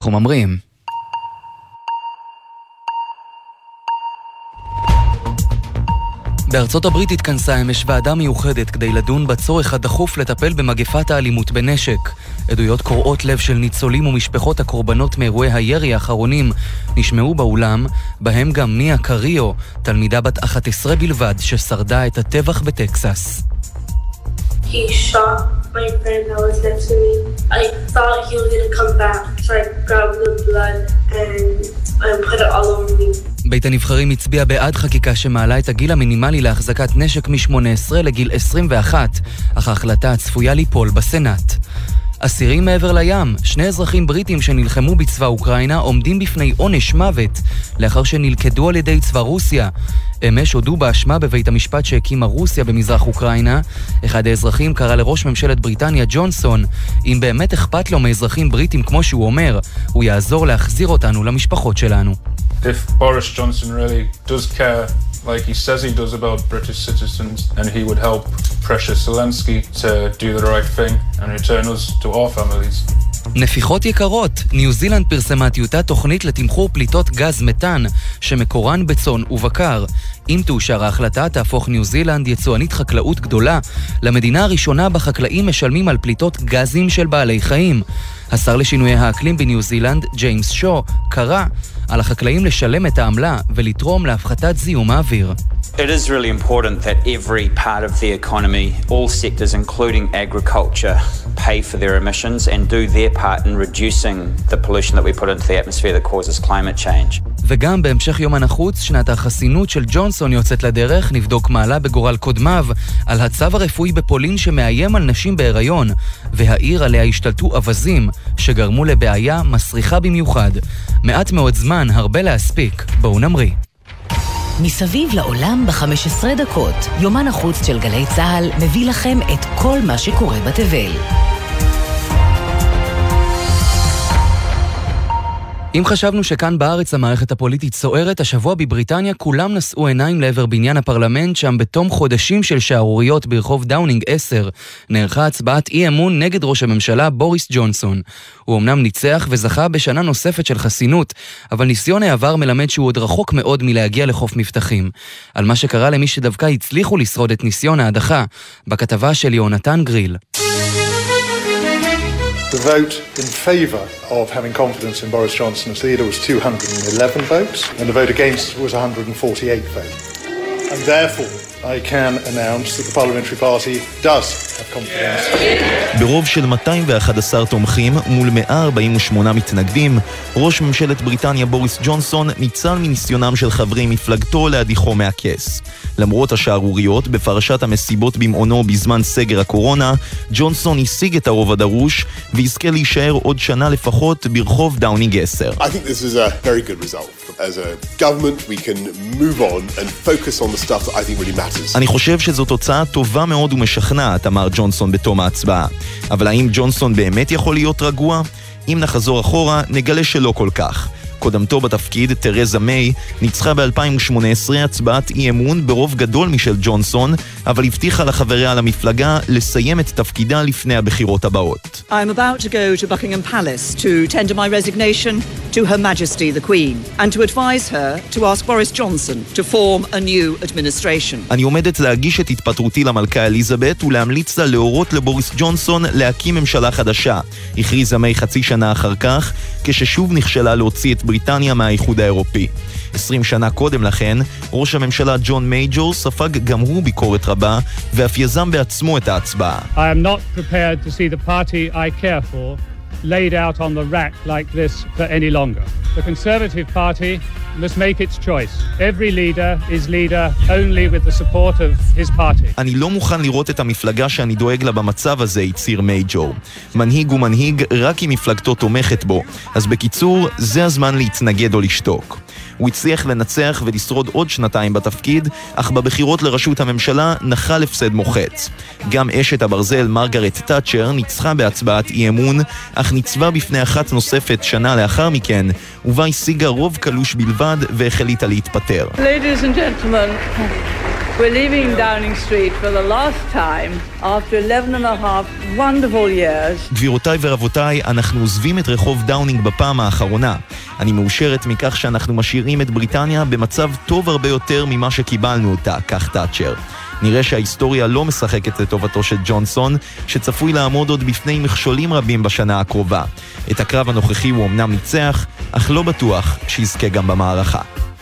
אנחנו ממרים. בארצות הברית התכנסה אמש ועדה מיוחדת כדי לדון בצורך הדחוף לטפל במגפת האלימות בנשק. עדויות קורעות לב של ניצולים ומשפחות הקורבנות מאירועי הירי האחרונים נשמעו באולם, בהם גם מיה קריו, תלמידה בת 11 בלבד ששרדה את הטבח בטקסס. He shot my friend that was next to me. I thought he was going to come back, so I grabbed the blood and put it all over me. בית הנבחרים הצביע בעד חקיקה שמעלה את הגיל המינימלי להחזקת נשק מ-18 לגיל 21, אך ההחלטה הצפויה ליפול בסנאט. אסירים מעבר לים, 2 אזרחים בריטים שנלחמו בצבא אוקראינה עומדים בפני עונש מוות לאחר שנלכדו על ידי צבא רוסיה. אמש הודו באשמה בבית המשפט שהקימה רוסיה במזרח אוקראינה. אחד האזרחים קרא לראש ממשלת בריטניה ג'ונסון, אם באמת אכפת לו מאזרחים בריטים כמו שהוא אומר, הוא יעזור להחזיר אותנו למשפחות שלנו. If Boris Johnson really does care like he says he does about British citizens, and he would help Precious Zelensky to do the right thing and return us to our families. נפיחות יקרות, ניו זילנד פרסמה טיוטת תוכנית לתמחור פליטות גז מתאן שמקורן בצאן ובקר. אם תאושר ההחלטה תהפוך ניו זילנד יצואנית חקלאות גדולה למדינה הראשונה בחקלאים משלמים על פליטות גזים של בעלי חיים. השר לשינוי האקלים בניו זילנד, ג'יימס שו, קרא על החקלאים לשלם את העמלה ולתרום להפחתת זיהום האוויר. It is really important that every part of the economy, all sectors including agriculture, pay for their emissions and do their part in reducing the pollution that we put into the atmosphere that causes climate change. וגם בהמשך יום הנחוץ, שנת החסינות של ג'ונסון יוצאת לדרך, נבדוק מעלה בגורל קודמיו על הצו הרפואי בפולין שמאיים על נשים בהיריון, והעיר עליה השתלטו אבזים שגרמו לבעיה מסריחה במיוחד. מעט מאוד זמן, הרבה להספיק. בואו נמריא. מסביב לעולם ב-15 דקות, יומן החוץ של גלי צהל מביא לכם את כל מה שקורה בתבל. אם חשבנו שכאן בארץ המערכת הפוליטית סוערת, השבוע בבריטניה כולם נשאו עיניים לעבר בניין הפרלמנט, שם בתום חודשים של שערוריות ברחוב דאונינג 10 נערכה הצבעת אי אמון נגד ראש הממשלה בוריס ג'ונסון. הוא אמנם ניצח וזכה בשנה נוספת של חסינות, אבל ניסיון העבר מלמד שהוא עוד רחוק מאוד מלהגיע לחוף מבטחים. על מה שקרה למי שדווקא הצליחו לשרוד את ניסיון ההדחה, בכתבה של יונתן גריל. The vote in favour of having confidence in Boris Johnson as leader was 211 votes, and the vote against was 148 votes. And therefore, I can announce that the parliamentary party does have confidence. ברוב של 211 תומכים מול 148 מתנגדים, ראש ממשלת בריטניה בוריס ג'ונסון ניצל מניסיונם של חברי מפלגתו להדיחו מהכס. למרות השערוריות בפרשת המסיבות במעונו בזמן סגר הקורונה, ג'ונסון השיג את הרוב הדרוש ויזכה להישאר עוד שנה לפחות ברחוב דאונינג 10. I think this is a very good result. As a government we can move on and focus on the stuff that I think really matters. אני חושב שזו תוצאה טובה מאוד ומשכנעת, אמר ג'ונסון בתום ההצבעה. אבל האם ג'ונסון באמת יכול להיות רגוע? אם נחזור אחורה, נגלה שלא כל כך. קודמתו בתפקיד, תרזה מיי, ניצחה ב-2018 הצבעת אי אמון ברוב גדול משל ג'ונסון, אבל הבטיחה לחבריה למפלגה לסיים את תפקידה לפני הבחירות הבאות. I'm about to go to Buckingham Palace to tender my resignation to Her Majesty the Queen and to advise her to ask Boris Johnson to form a new administration. אני עומדת להגיש את התפטרותי למלכה אליזבת ולהמליץ לה להורות לבוריס ג'ונסון להקים ממשלה חדשה. הכריזה מיי חצי שנה אחר כך, כששוב נכשלה להוציא את בריטניה מהאיחוד האירופי. 20 שנה קודם לכן, ראש הממשלה ג'ון מייג'ור ספג גם הוא ביקורת רבה, ואף יזם בעצמו את ההצבעה. I am not prepared to see the party I care for laid out on the rack like this for any longer. The Conservative Party must make its choice. Every leader is leader only with the support of his party. אני לא מוכן לראות את המפלגה שאני דואג לה במצב הזה, הצהיר מייג'ור. מנהיג הוא מנהיג רק אם מפלגתו תומכת בו. אז בקיצור, זה הזמן להתנגד או לשתוק. הוא הצליח לנצח ולשרוד עוד 2 בתפקיד, אך בבחירות לראשות הממשלה נחל הפסד מוחץ. גם אשת הברזל מרגרט תאצ'ר ניצחה בהצבעת אי אמון, אך ניצבה בפני אחת נוספת שנה לאחר מכן, ובה השיגה רוב קלוש בלבד והחליטה להתפטר. Ladies and gentlemen, We're leaving Downing Street for the last time after 11 and a half wonderful years. גבירותיי ורבותיי, אנחנו עוזבים את רחוב דאונינג בפעם האחרונה. אני מאושרת מכך שאנחנו משאירים את בריטניה במצב טוב הרבה יותר ממה שקיבלנו אותה, כך תאצ'ר. נראה שההיסטוריה לא משחקת לטובתו של ג'ונסון, שצפוי לעמוד עוד בפני מכשולים רבים בשנה הקרובה. את הקרב הנוכחי הוא אמנם ניצח, אך לא בטוח שיזכה גם במערכה.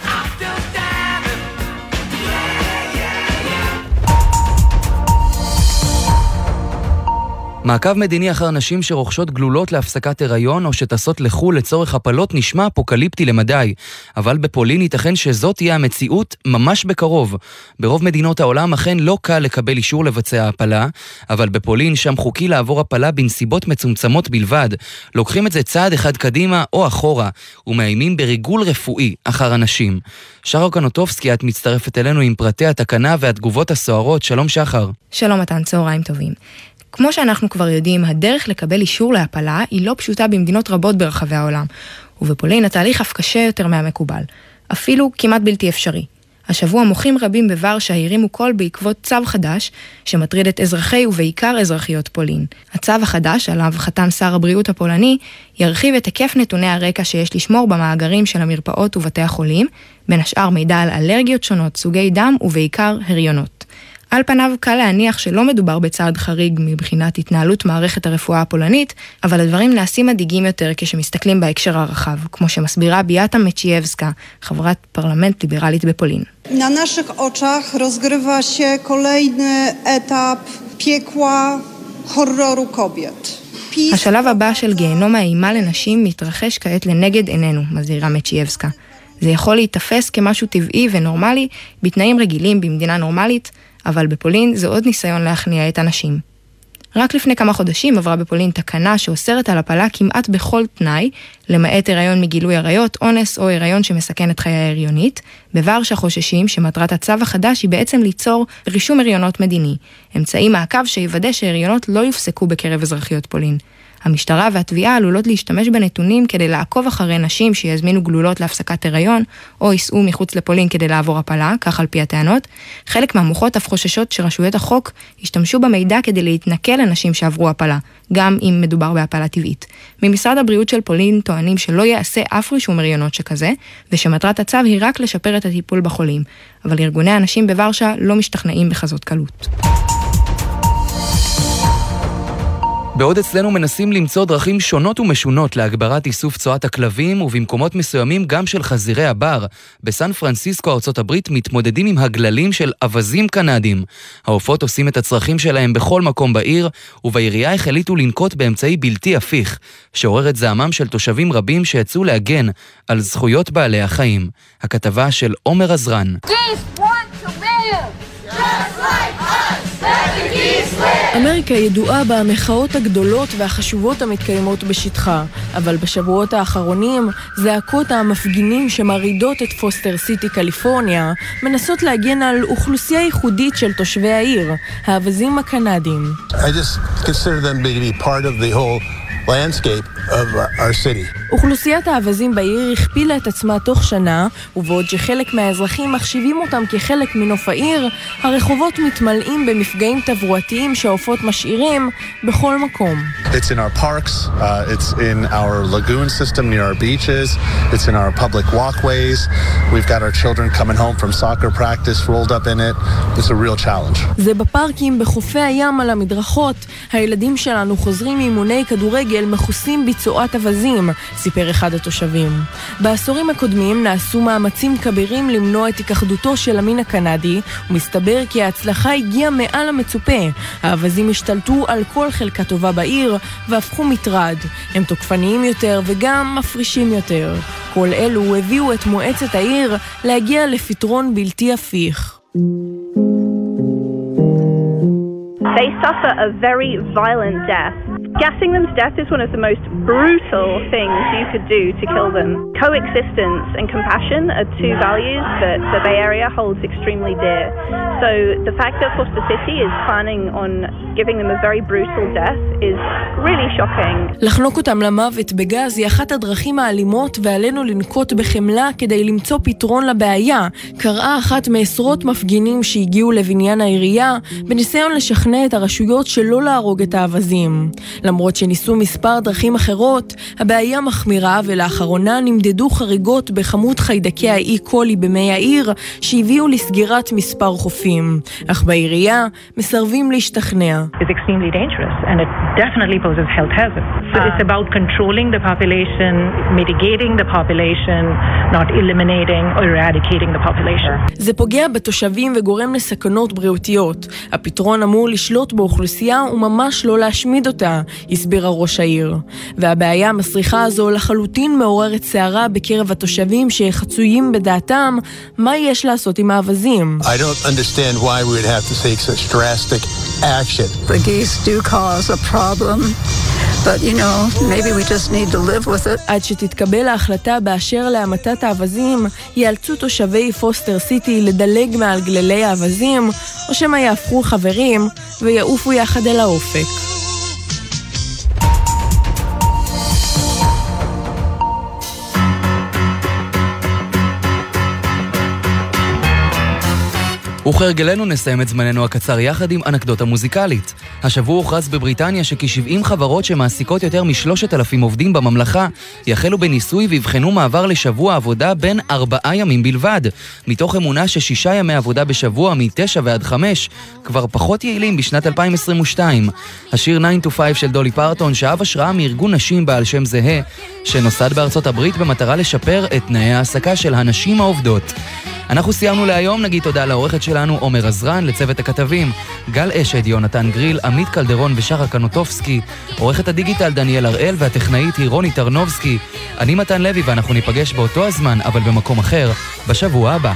מעקב מדיני אחר נשים שרוכשות גלולות להפסקת הריון או שטסות לחו"ל לצורך הפלות נשמע אפוקליפטי למדי, אבל בפולין ייתכן שזאת תהיה המציאות ממש בקרוב. ברוב מדינות העולם אכן לא קל לקבל אישור לבצע הפלה, אבל בפולין שם חוקי לעבור הפלה בנסיבות מצומצמות בלבד. לוקחים את זה צעד אחד קדימה או אחורה, ומאיימים בריגול רפואי אחר הנשים. שחר קנוטובסקי, את מצטרפת אלינו עם פרטי התקנה והתגובות הסוערות. שלום שחר. שלום מתן, צהריים טובים. כמו שאנחנו כבר יודעים, הדרך לקבל אישור להפלה היא לא פשוטה במדינות רבות ברחבי העולם, ובפולין התהליך אף קשה יותר מהמקובל, אפילו כמעט בלתי אפשרי. השבוע מוחים רבים בוורשה הרימו קול בעקבות צו חדש שמטריד את אזרחי ובעיקר אזרחיות פולין. הצו החדש, עליו חתם שר הבריאות הפולני, ירחיב את היקף נתוני הרקע שיש לשמור במאגרים של המרפאות ובתי החולים, בין השאר מידע על אלרגיות שונות, סוגי דם ובעיקר הריונות. על פניו קל להניח שלא מדובר בצעד חריג מבחינת התנהלות מערכת הרפואה הפולנית, אבל הדברים נעשים מדאיגים יותר כשמסתכלים בהקשר הרחב, כמו שמסבירה ביאטה מצ'ייבסקה, חברת פרלמנט ליברלית בפולין. Na naszych oczach rozgrywa się kolejny etap piekła horroru kobiet. השלב הבא של גיהנום האימה לנשים מתרחש כעת לנגד עינינו, מזהירה מצ'ייבסקה. זה יכול להתאפס כמשהו טבעי ונורמלי בתנאים רגילים במדינה נורמלית, אבל בפולין זה עוד ניסיון להכניע את הנשים. רק לפני כמה חודשים עברה בפולין תקנה שאוסרת על הפלה כמעט בכל תנאי, למעט הריון מגילוי עריות, אונס או הריון שמסכן את חיי ההריונית. בוורשה חוששים שמטרת הצו החדש היא בעצם ליצור רישום הריונות מדיני, אמצעי מעקב שיוודא שהריונות לא יופסקו בקרב אזרחיות פולין. המשטרה והתביעה עלולות להשתמש בנתונים כדי לעקוב אחרי נשים שיזמינו גלולות להפסקת הריון, או ייסעו מחוץ לפולין כדי לעבור הפלה, כך על פי הטענות. חלק מהמוחות אף חוששות שרשויות החוק ישתמשו במידע כדי להתנכל לנשים שעברו הפלה, גם אם מדובר בהפלה טבעית. ממשרד הבריאות של פולין טוענים שלא יעשה אף רישום הריונות שכזה, ושמטרת הצו היא רק לשפר את הטיפול בחולים. אבל ארגוני הנשים בוורשה לא משתכנעים בכזאת קלות. בעוד אצלנו מנסים למצוא דרכים שונות ומשונות להגברת איסוף צואת הכלבים, ובמקומות מסוימים גם של חזירי הבר. בסן פרנסיסקו, ארצות הברית, מתמודדים עם הגללים של אבזים קנדים. העופות עושים את הצרכים שלהם בכל מקום בעיר, ובעירייה החליטו לנקוט באמצעי בלתי הפיך, שעורר את זעמם של תושבים רבים שיצאו להגן על זכויות בעלי החיים. הכתבה של עומר עזרן. אמריקה ידועה במחאות הגדולות והחשובות המתקיימות בשטחה, אבל בשבועות האחרונים זעקות המפגינים שמרידות את פוסטר סיטי קליפורניה מנסות להגן על אוכלוסייה ייחודית של תושבי העיר, האבזים הקנדים. I just consider them to be part of the whole landscape of our city. אוכלוסיית האבזים בעיר הכפילה את עצמה תוך שנה, ובעוד שחלק מהאזרחים מחשיבים אותם כחלק מנוף העיר, הרחובות מתמלאים במפגעים תברואתיים שהעופות משאירים בכל מקום. It's in our parks, it's in our lagoon system near our beaches, it's in our public walkways. We've got our children coming home from soccer practice rolled up in it. It's a real challenge. זה בפארקים, בחופי הים, על המדרכות. הילדים שלנו חוזרים מאימוני כדורגל מכוסים בצואת אבזים, סיפר אחד התושבים. בעשורים הקודמים נעשו מאמצים כבירים למנוע את התאחדותו של המין הקנדי, ומסתבר כי ההצלחה הגיעה מעל המצופה. האבזים השתלטו על כל חלקה טובה בעיר והפכו מטרד. הם תוקפניים יותר וגם מפרישים יותר. כל אלו הביאו את מועצת העיר להגיע לפתרון בלתי הפיך. They suffer a very violent death. Gassing them to death is one of the most brutal things you could do to kill them. Coexistence and compassion are two values that the Bay Area holds extremely dear. So the fact that Foster City is planning on giving them a very brutal death is really shocking. לחנוק אותם למוות בגז היא אחת הדרכים האלימות ועלינו לנקוט בחמלה כדי למצוא פתרון לבעיה. קראה אחת מעשרות מפגינים שהגיעו לבניין העירייה בניסיון לשכנע את הרשויות שלא להרוג את האבזים. למרות שניסו מספר דרכים אחרות, הבעיה מחמירה ולאחרונה נמדדו חריגות בכמות חיידקי האי קולי במי העיר שהביאו לסגירת מספר חופים. אך בעירייה מסרבים להשתכנע. It's extremely dangerous and it definitely poses health hazards. So it's about controlling the population, mitigating the population, not eliminating or eradicating the population. זה פוגע בתושבים וגורם לסכנות בריאותיות. הפתרון אמור לשלוט באוכלוסייה וממש לא להשמיד אותה, הסבירה ראש העיר. והבעיה המסריחה הזו לחלוטין מעוררת שערה בקרב התושבים שחצויים בדעתם מה יש לעשות עם האבזים. I don't understand why we would have to take such drastic action. The geese do cause a problem, but you know, maybe we just need to live with it. עד שתתקבל ההחלטה באשר להמתת האבזים, יאלצו תושבי פוסטר סיטי לדלג מעל גללי האבזים, או שמה יהפכו חברים ויעופו יחד אל האופק. וכהרגלנו נסיים את זמננו הקצר יחד עם אנקדוטה מוזיקלית. השבוע הוכרז בבריטניה שכ-70 חברות שמעסיקות יותר מ-3,000 עובדים בממלכה יחלו בניסוי ויבחנו מעבר לשבוע עבודה בין 4 ימים בלבד, מתוך אמונה ש6 ימי עבודה בשבוע מ-9 ועד 5 כבר פחות יעילים בשנת 2022. השיר 9 to 5 של דולי פרטון שאב השראה מארגון נשים בעל שם זהה שנוסד בארצות הברית במטרה לשפר את תנאי העסקה של הנשים העובדות. אנחנו סיימנו להיום, נגיד תודה לעורכת שלנו עומר עזרן, לצוות הכתבים גל אשד, יונתן גריל, עמית קלדרון ושחר קנוטובסקי, עורכת הדיגיטל דניאל הראל והטכנאית היא רוני טרנובסקי. אני מתן לוי ואנחנו ניפגש באותו הזמן אבל במקום אחר בשבוע הבא.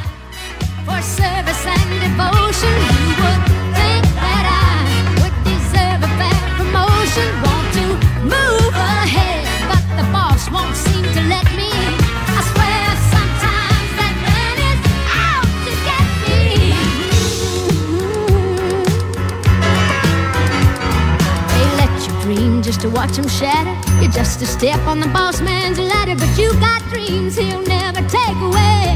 Just to watch him shatter. You're just a step on the boss man's ladder, but you got dreams he'll never take away.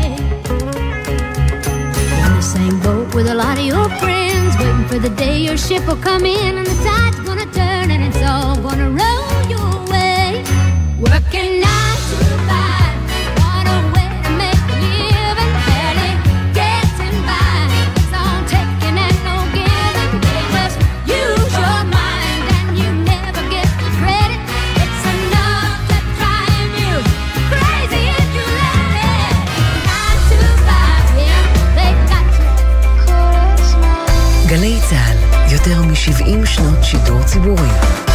You're in the same boat with a lot of your friends, waiting for the day your ship will come in and the tide's gonna turn and it's all gonna roll your way. Working 9 to 5, what a way to make a living, barely getting by. It's all taking and no giving. They just use your mind and you never get the credit. It's enough to drive you crazy if you let it. 9 to 5, yeah, they got you. גלי צהל, יותר מ-70 שנות שידור ציבורי.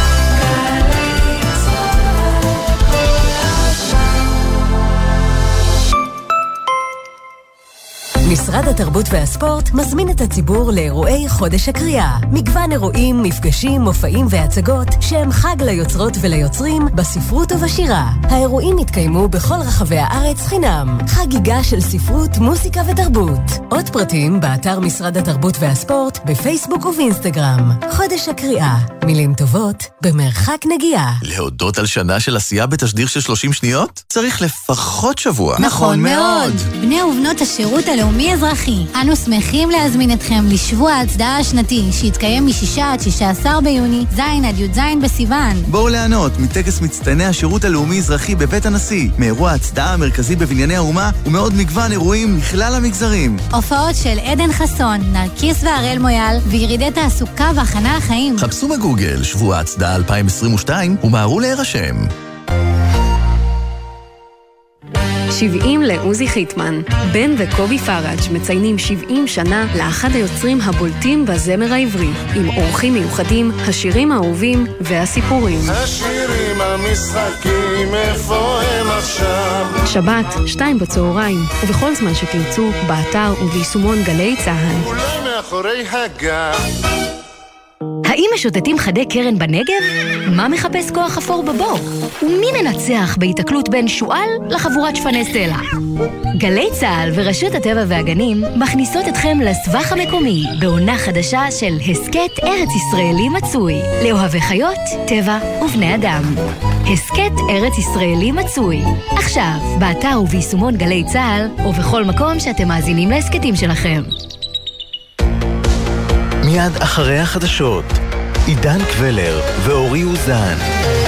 משרד התרבות והספורט מזמין את הציבור לאירועי חודש הקריאה. מגוון אירועים, מפגשים, מופעים והצגות שהם חג ליוצרות וליוצרים בספרות ובשירה. האירועים יתקיימו בכל רחבי הארץ חינם. חגיגה של ספרות, מוסיקה ותרבות. עוד פרטים באתר משרד התרבות והספורט, בפייסבוק ובאינסטגרם. חודש הקריאה. מילים טובות במרחק נגיעה. להודות על שנה של עשייה בתשדיר של 30 שניות? צריך לפחות שבוע. נכון מאוד. בני ובנות השירות הלאומי אזרחי, אנו שמחים להזמין אתכם לשבוע ההצדעה השנתי שיתקיים מ6 עד 16 ביוני, ז' עד י"ז בסיוון. בואו ליהנות מטקס מצטייני השירות הלאומי אזרחי בבית הנשיא, מאירוע ההצדעה המרכזי בבנייני האומה ומעוד מגוון אירועים מכלל המגזרים. הופעות של עדן חסון, נרקיס והראל מויאל וירידי תעסוקה והכנה לחיים. חפשו בגוגל שבוע ההצדעה 2022 ומהרו להירשם. 70 לעוזי חיטמן. בן וקובי פראג' מציינים 70 שנה לאחד היוצרים הבולטים בזמר העברי, עם אורחים מיוחדים, השירים האהובים והסיפורים. השירים המשחקים, איפה הם עכשיו? שבת, 2 בצהריים, ובכל זמן שתרצו, באתר וביישומון גלי צהל. אולי מאחורי הגב. האם משוטטים חדי קרן בנגב? מה מחפש כוח אפור בבור? ומי מנצח בהתקלות בין שואל לחבורת שפני סלע? גלי צהל ורשות הטבע והגנים מכניסות אתכם לסבך המקומי בעונה חדשה של הסקט ארץ ישראלי מצוי לאוהבי חיות, טבע ובני אדם. הסקט ארץ ישראלי מצוי עכשיו באתר וביישומון גלי צהל ובכל מקום שאתם מאזינים להסקטים שלכם. מיד אחרי החדשות, עידן קבלר ואורי אוזן.